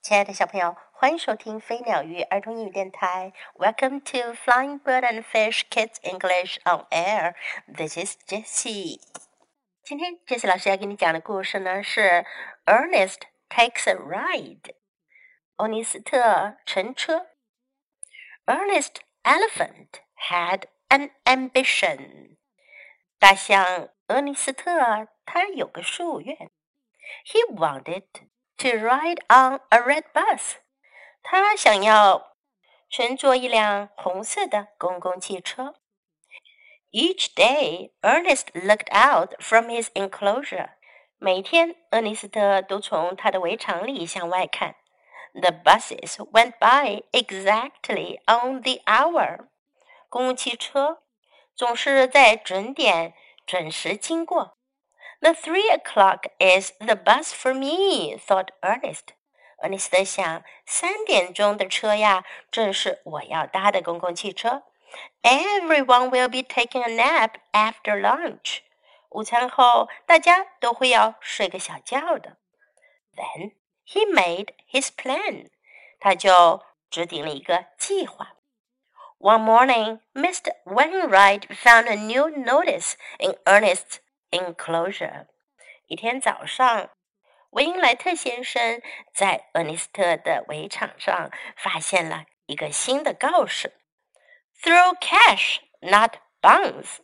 亲爱的小朋友，欢迎收听飞鸟鱼儿童英语电台。Welcome to Flying Bird and Fish Kids English on Air. This is Jessie. 今天 Jessie 老师要给你讲的故事呢是 Ernest Takes a Ride. 欧尼斯特乘车。Ernest Elephant had an ambition. 大象俄尼斯特他有个夙愿。He wanted to ride on a red bus. 他想要乘坐一辆红色的公共汽车。Each day, Ernest looked out from his enclosure. 每天，厄尼斯特都从他的围场里向外看。The buses went by exactly on the hour. 公共汽车总是在准点准时经过。The 3 o'clock is the bus for me, thought Ernest. 厄尼斯特想，3点钟的车呀，正是我要搭的公共汽车。Everyone will be taking a nap after lunch. 午餐后，大家都会要睡个小觉的。Then he made his plan. 他就制定了一个计划。One morning, Mr. Wainwright found a new notice in Ernest's enclosure. 一天早上，维因莱特先生在厄尼斯特的围场上发现了一个新的告示 ：Throw cash, not bonds,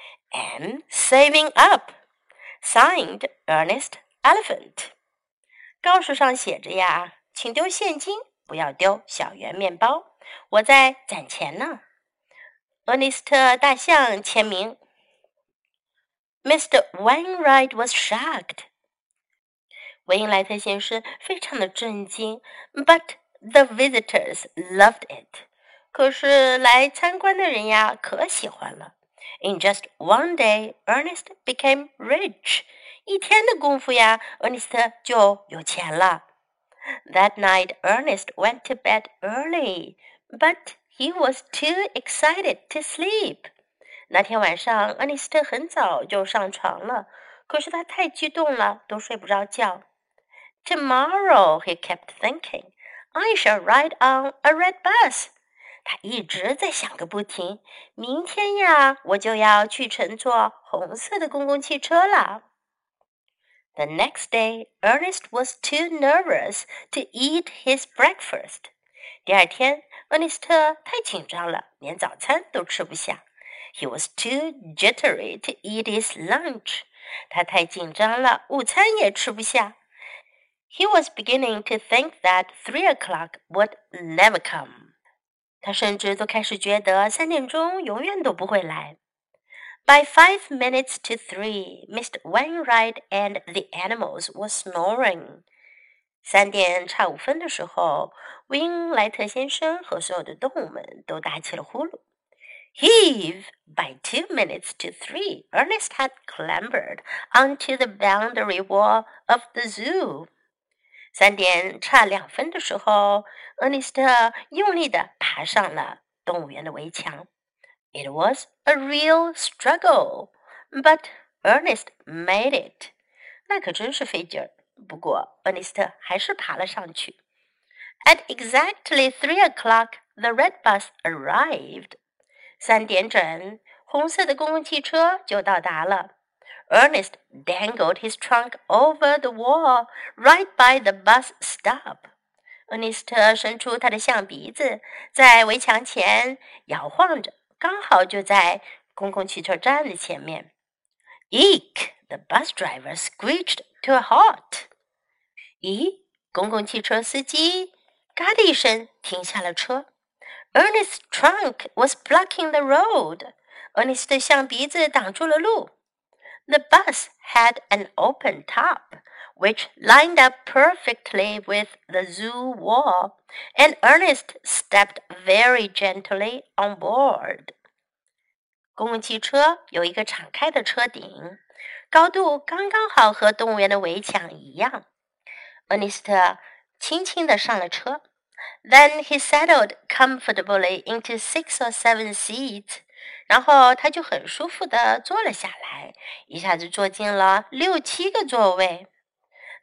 and saving up. Signed Ernest Elephant. 告示上写着呀，请丢现金，不要丢小圆面包。我在攒钱呢。厄尼斯特大象签名。Mr. Wainwright was shocked. 维因莱特先生非常的震惊 ，but the visitors loved it. 可是来参观的人呀，可喜欢了。In just one day, Ernest became rich. 一天的功夫呀，厄尼斯特就有钱了。That night, Ernest went to bed early, but he was too excited to sleep. 那天晚上，厄尼斯特很早就上床了，可是他太激动了，都睡不着觉。Tomorrow, he kept thinking, I shall ride on a red bus. 他一直在想个不停，明天呀，我就要去乘坐红色的公共汽车了。The next day, Ernest was too nervous to eat his breakfast. 第二天，厄尼斯特太紧张了，连早餐都吃不下。He was too jittery to eat his lunch. 他太紧张了，午餐也吃不下。He was beginning to think that 3 o'clock would never come. 他甚至都开始觉得3点钟永远都不会来。By 5 minutes to 3, Mr. Wainwright and the animals were snoring. 3点差5分的时候，维因莱特先生和所有的动物们都打起了呼噜。Heave! By 2 minutes to 3, Ernest had clambered onto the boundary wall of the zoo. 3点差2分的时候，厄尼斯特用力地爬上了动物园的围墙。It was a real struggle, but Ernest made it. 那可真是费劲儿，不过厄尼斯特还是爬了上去。At exactly 3 o'clock, the red bus arrived. 3点整，红色的公共汽车就到达了。Ernest dangled his trunk over the wall right by the bus stop. 厄尼斯特伸出他的象鼻子，在围墙前摇晃着，刚好就在公共汽车站的前面。Eek! The bus driver screeched to a halt. 咦，公共汽车司机嘎的一声停下了车。Ernest's trunk was blocking the road. 厄尼斯的象鼻子挡住了路。The bus had an open top, which lined up perfectly with the zoo wall, and Ernest stepped very gently on board. 公共汽车有一个敞开的车顶，高度刚刚好和动物园的围墙一样。厄尼斯特轻轻地上了车。Then he settled comfortably into 6 or 7 seats. 然后他就很舒服地坐了下来，一下子坐进了6、7个座位。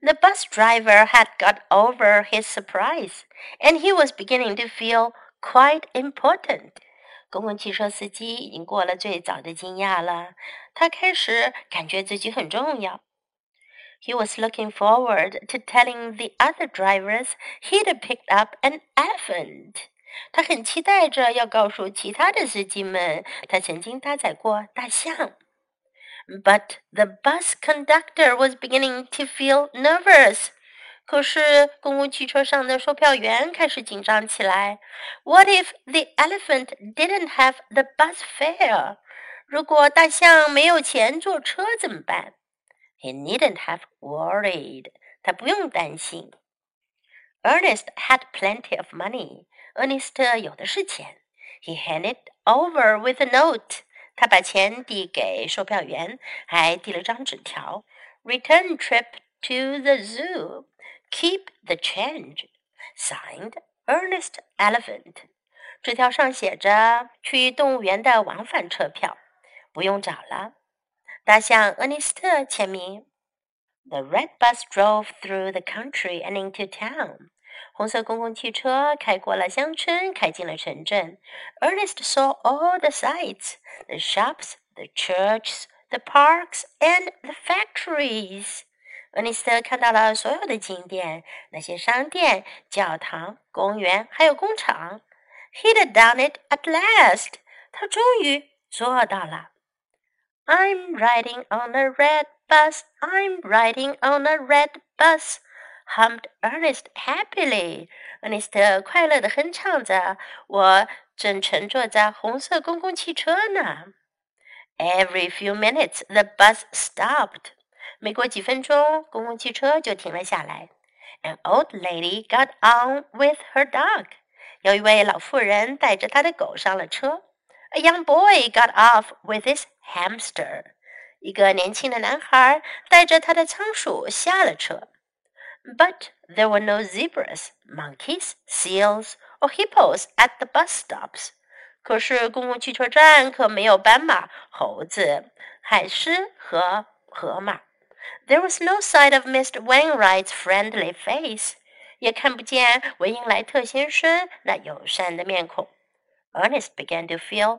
The bus driver had got over his surprise, and he was beginning to feel quite important. 公共汽车司机已经过了最早的惊讶了，他开始感觉自己很重要。He was looking forward to telling the other drivers he'd picked up an elephant. 他很期待着要告诉其他的司机们，他曾经搭载过大象。But the bus conductor was beginning to feel nervous. 可是公共汽车上的售票员开始紧张起来。What if the elephant didn't have the bus fare? 如果大象没有钱坐车怎么办？ He needn't have worried. 他不用担心。Ernest had plenty of money. Ernest 有的是钱。He handed over with a note. 他把钱递给售票员，还递了张纸条。Return trip to the zoo. Keep the change. Signed, Ernest Elephant. 纸条上写着去动物园的往返车票，不用找了。大象厄尼斯特签名。The red bus drove through the country and into town. 红色公共汽车开过了乡村，开进了城镇。Ernest saw all the sights, the shops, the churches, the parks, and the factories. 厄尼斯特看到了所有的景点，那些商店、教堂、公园，还有工厂。He'd done it at last. 他终于做到了。I'm riding on a red bus. I'm riding on a red bus. Hummed Ernest happily. 厄尼斯特快乐地哼唱着，我正乘坐在红色公共汽车呢。Every few minutes, the bus stopped. 每过几分钟，公共汽车就停了下来。An old lady got on with her dog. 有一位老妇人带着她的狗上了车。A young boy got off with his hamster. 一个年轻的男孩带着他的仓鼠下了车。But there were no zebras, monkeys, seals, or hippos at the bus stops. 可是公共汽车站可没有斑马、猴子、海狮和河马。There was no sight of Mr. Wainwright's friendly face. 也看不见维因莱特先生那友善的面孔。Ernest began to feel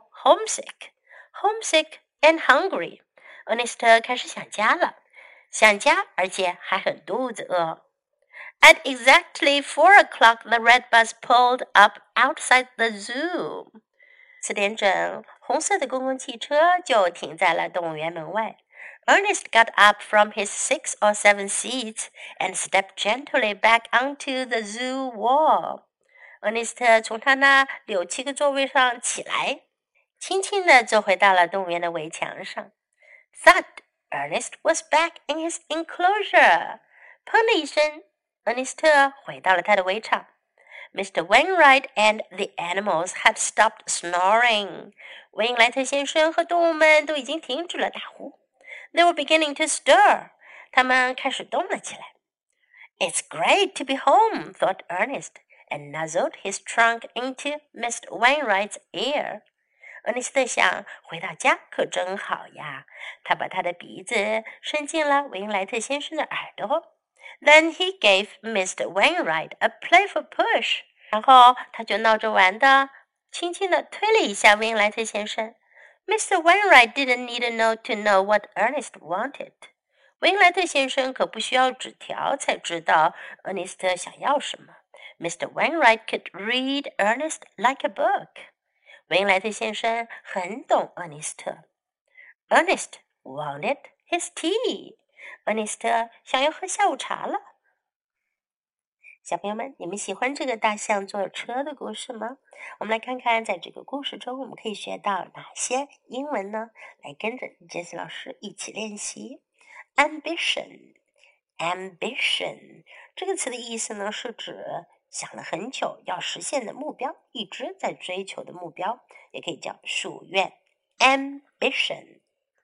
homesick and hungry. Ernest 开始想家了，想家，而且还很肚子饿。At exactly 4 o'clock, the red bus pulled up outside the zoo. 4点整，红色的公共汽车就停在了动物园门外。Ernest got up from his 6 or 7 seats and stepped gently back onto the zoo wall. 厄尼斯特从他那6、7个座位上起来，轻轻地走回到了动物园的围墙上。Thud! Ernest was back in his enclosure. 砰的一声，厄尼斯特回到了他的围场。Mr. Wainwright and the animals had stopped snoring. 维因莱特先生和动物们都已经停止了打呼。They were beginning to stir. 他们开始动了起来。It's great to be home, thought Ernest.And nuzzled his trunk into Mr. Wainwright's ear. 厄尼斯特想，回到家可真好呀。他把他的鼻子伸进了维因莱特先生的耳朵。Then he gave Mr. Wainwright a playful push. 然后他就闹着玩的，轻轻地推了一下维因莱特先生。Mr. Wainwright didn't need a note to know what Ernest wanted. 维因莱特先生可不需要纸条才知道厄尼斯特想要什么。Mr. Wainwright could read Ernest like a book. 维因莱特先生很懂厄尼斯特。Ernest wanted his tea. 厄尼斯特想要喝下午茶了。小朋友们，你们喜欢这个大象坐车的故事吗？我们来看看，在这个故事中我们可以学到哪些英文呢？来跟着 Jessie 老师一起练习。Ambition 这个词的意思呢，是指想了很久要实现的目标，一直在追求的目标，也可以叫夙愿。Ambition.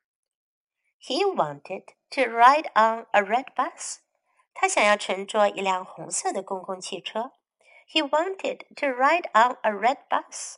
He wanted to ride on a red bus. 他想要乘坐一辆红色的公共汽车。He wanted to ride on a red bus.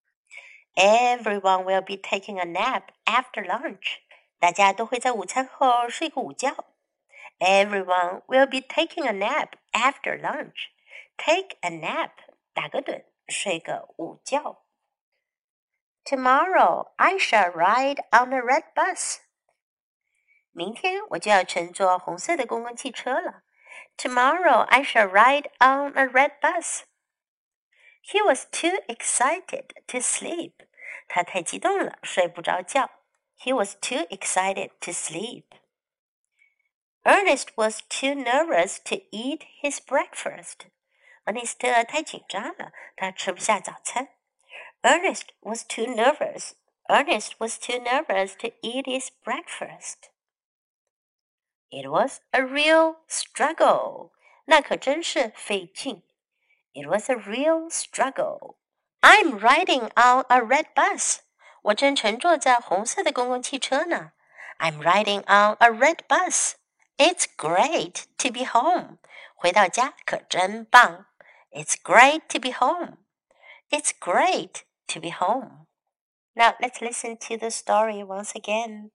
Everyone will be taking a nap after lunch. 大家都会在午餐后睡个午觉。 Everyone will be taking a nap after lunch. Take a nap. 打个盹，睡个午觉。Tomorrow I shall ride on a red bus. 明天我就要乘坐红色的公共汽车了。Tomorrow I shall ride on a red bus. He was too excited to sleep. 他太激动了，睡不着觉。He was too excited to sleep. Ernest was too nervous to eat his breakfast. 恩尼斯特太紧张了，他吃不下早餐。Ernest was too nervous. Ernest was too nervous to eat his breakfast. It was a real struggle. 那可真是费劲。It was a real struggle. I'm riding on a red bus. 我正乘坐在红色的公共汽车呢。I'm riding on a red bus. It's great to be home. 回到家可真棒。It's great to be home. It's great to be home. Now let's listen to the story once again.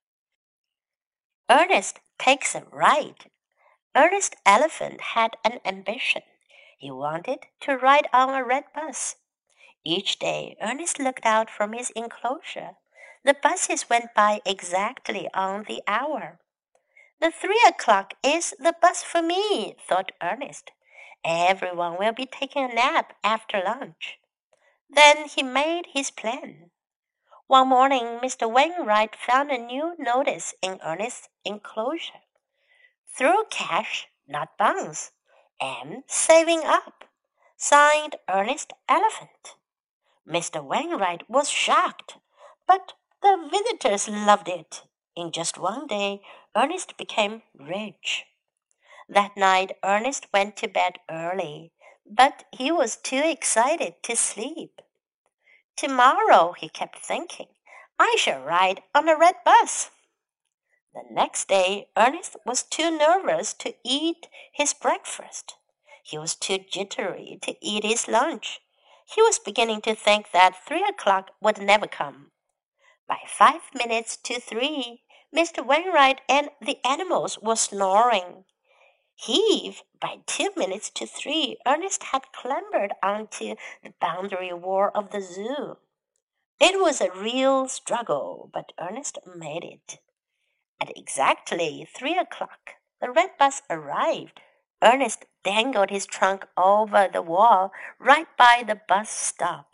Ernest takes a ride. Ernest Elephant had an ambition. He wanted to ride on a red bus. Each day, Ernest looked out from his enclosure. The buses went by exactly on the hour. The 3 o'clock is the bus for me, thought Ernest. Everyone will be taking a nap after lunch. Then he made his plan. One morning, Mr. Wainwright found a new notice in Ernest's enclosure. Through cash, not bonds, and saving up. Signed Ernest Elephant. Mr. Wainwright was shocked, but the visitors loved it. In just one day, Ernest became rich. That night, Ernest went to bed early, but he was too excited to sleep. Tomorrow, he kept thinking, I shall ride on a red bus. The next day, Ernest was too nervous to eat his breakfast. He was too jittery to eat his lunch. He was beginning to think that 3 o'clock would never come. By 5 minutes to 3, Mr. Wainwright and the animals were snoring. By 2 minutes to 3, Ernest had clambered onto the boundary wall of the zoo. It was a real struggle, but Ernest made it. At exactly 3 o'clock, the red bus arrived. Ernest dangled his trunk over the wall right by the bus stop.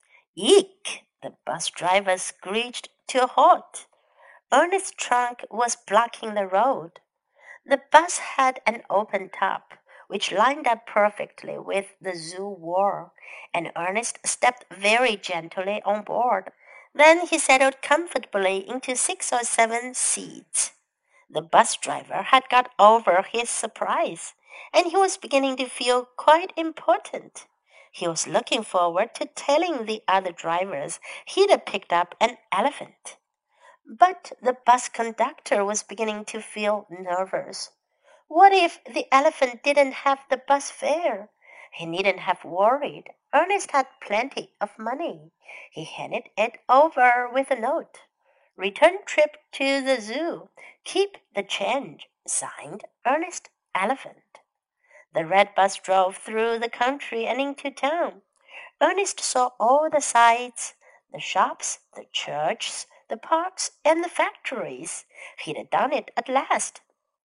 Eek! The bus driver screeched to a halt. Ernest's trunk was blocking the road. The bus had an open top, which lined up perfectly with the zoo wall, and Ernest stepped very gently on board. Then he settled comfortably into 6 or 7 seats. The bus driver had got over his surprise, and he was beginning to feel quite important. He was looking forward to telling the other drivers he'd picked up an elephant. But the bus conductor was beginning to feel nervous. What if the elephant didn't have the bus fare? He needn't have worried. Ernest had plenty of money. He handed it over with a note. Return trip to the zoo. Keep the change. Signed, Ernest Elephant. The red bus drove through the country and into town. Ernest saw all the sights, the shops, the churches, the parks, and the factories. He'd done it at last.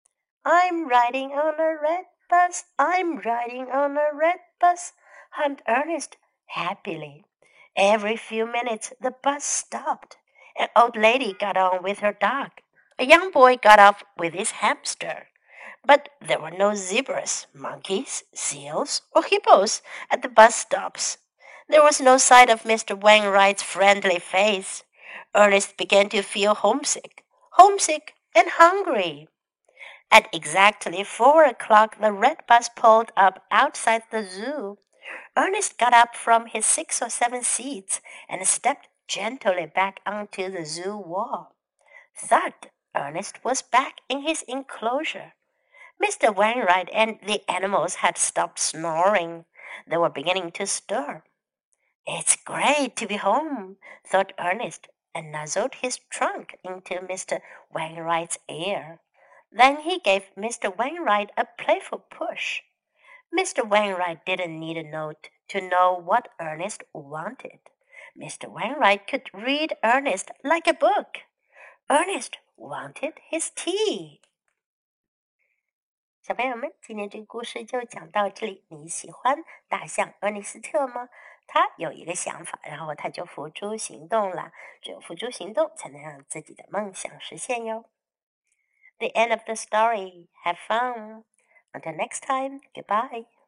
I'm riding on a red bus. I'm riding on a red bus, hummed Ernest happily. Every few minutes the bus stopped. An old lady got on with her dog. A young boy got off with his hamster. But there were no zebras, monkeys, seals, or hippos at the bus stops. There was no sight of Mr. Wainwright's friendly face. Ernest began to feel homesick and hungry. At exactly 4 o'clock, the red bus pulled up outside the zoo. Ernest got up from his 6 or 7 seats and stepped gently back onto the zoo wall. Thud! Ernest was back in his enclosure. Mr. Wainwright and the animals had stopped snoring. They were beginning to stir. It's great to be home, thought Ernest, and nuzzled his trunk into Mr. Wainwright's ear. Then he gave Mr. Wainwright a playful push. Mr. Wainwright didn't need a note to know what Ernest wanted. Mr. Wainwright could read Ernest like a book. Ernest wanted his tea. 小朋友们，今天这个故事就讲到这里。你喜欢大象厄尼斯特吗？他有一个想法，然后他就付诸行动了。只有付诸行动，才能让自己的梦想实现哟。The end of the story. Have fun. Until next time. Goodbye.